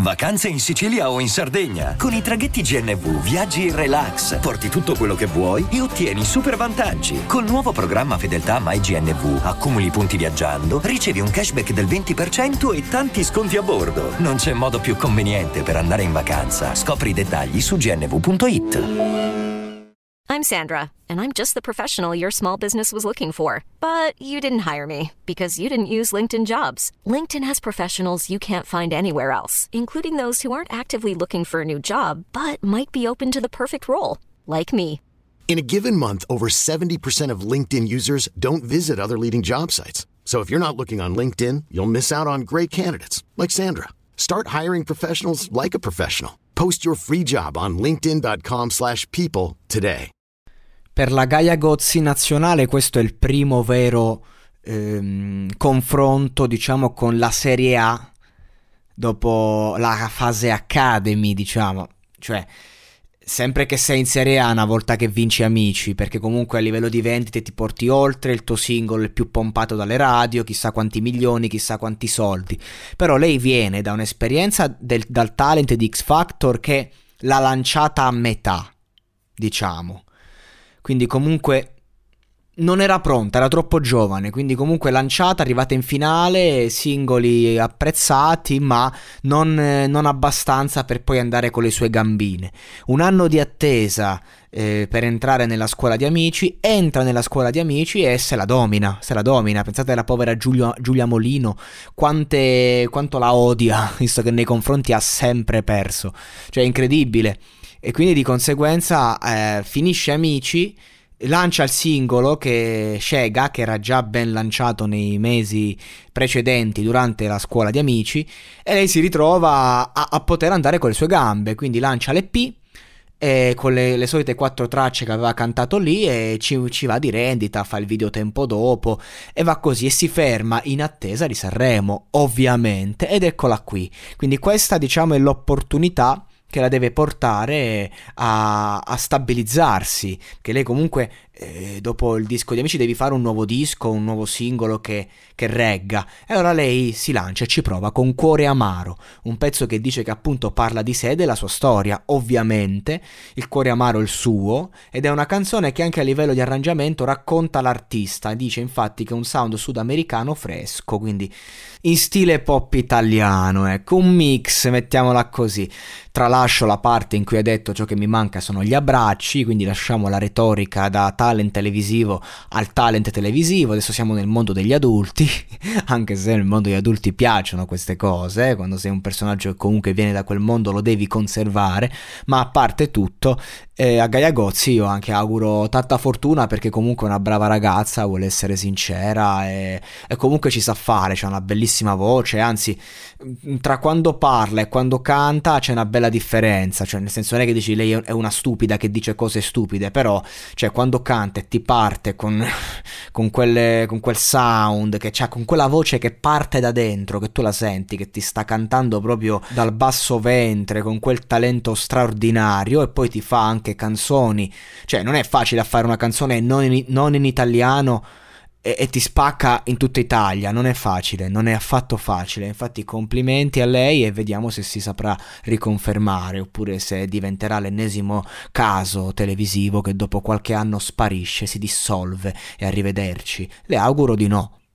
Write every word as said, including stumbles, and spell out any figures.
Vacanze in Sicilia o in Sardegna. Con i traghetti G N V viaggi in relax, porti tutto quello che vuoi e ottieni super vantaggi. Col nuovo programma Fedeltà MyGNV accumuli punti viaggiando, ricevi un cashback del venti per cento e tanti sconti a bordo. Non c'è modo più conveniente per andare in vacanza. Scopri i dettagli su g n v punto i t. I'm Sandra, and I'm just the professional your small business was looking for. But you didn't hire me because you didn't use LinkedIn Jobs. LinkedIn has professionals you can't find anywhere else, including those who aren't actively looking for a new job, but might be open to the perfect role, like me. In a given month, over seventy percent of LinkedIn users don't visit other leading job sites. So if you're not looking on LinkedIn, you'll miss out on great candidates like Sandra. Start hiring professionals like a professional. Post your free job on linkedin dot com slash people today. Per la Gaia Gozzi nazionale questo è il primo vero ehm, confronto, diciamo, con la Serie A dopo la fase Academy, diciamo. Cioè, sempre che sei in Serie A una volta che vinci Amici, perché comunque a livello di vendite ti porti oltre, il tuo singolo è più pompato dalle radio, chissà quanti milioni, chissà quanti soldi. Però lei viene da un'esperienza del, dal talent di X Factor che l'ha lanciata a metà, diciamo. Quindi comunque non era pronta, era troppo giovane, quindi comunque lanciata, arrivata in finale, singoli apprezzati, ma non, non abbastanza per poi andare con le sue gambine. Un anno di attesa eh, per entrare nella scuola di Amici, entra nella scuola di Amici e se la domina, se la domina. Pensate alla povera Giulia, Giulia Molino, quante, quanto la odia, visto che nei confronti ha sempre perso, cioè incredibile. E quindi di conseguenza eh, finisce Amici, lancia il singolo che Scega, che era già ben lanciato nei mesi precedenti durante la scuola di Amici, e lei si ritrova a, a poter andare con le sue gambe, quindi lancia l'E P e con le, le solite quattro tracce che aveva cantato lì e ci, ci va di rendita, fa il video tempo dopo e va così e si ferma in attesa di Sanremo, ovviamente, ed eccola qui. Quindi questa, diciamo, è l'opportunità che la deve portare a, a stabilizzarsi, che lei comunque eh, dopo il disco di Amici devi fare un nuovo disco, un nuovo singolo che, che regga, e allora lei si lancia e ci prova con Cuore Amaro, un pezzo che dice che appunto parla di sé e della sua storia, ovviamente il cuore amaro è il suo, ed è una canzone che anche a livello di arrangiamento racconta l'artista, dice infatti che è un sound sudamericano fresco, quindi in stile pop italiano, ecco, un mix, mettiamola così. Tralascio la parte in cui ha detto ciò che mi manca sono gli abbracci, quindi lasciamo la retorica da talent televisivo al talent televisivo, adesso siamo nel mondo degli adulti, anche se nel mondo degli adulti piacciono queste cose, eh? Quando sei un personaggio che comunque viene da quel mondo lo devi conservare, ma a parte tutto, eh, a Gaia Gozzi io anche auguro tanta fortuna, perché comunque è una brava ragazza, vuole essere sincera e, e comunque ci sa fare, c'ha una bellissima voce, anzi tra quando parla e quando canta c'è una bella differenza, cioè nel senso non è che dici lei è una stupida che dice cose stupide, però cioè quando canta e ti parte con, con, quelle, con quel sound che c'ha, con quella voce che parte da dentro, che tu la senti che ti sta cantando proprio dal basso ventre, con quel talento straordinario, e poi ti fa anche canzoni, cioè non è facile a fare una canzone non in, non in italiano e, e ti spacca in tutta Italia, non è facile, non è affatto facile. Infatti complimenti a lei e vediamo se si saprà riconfermare oppure se diventerà l'ennesimo caso televisivo che dopo qualche anno sparisce, si dissolve e arrivederci. Le auguro di no.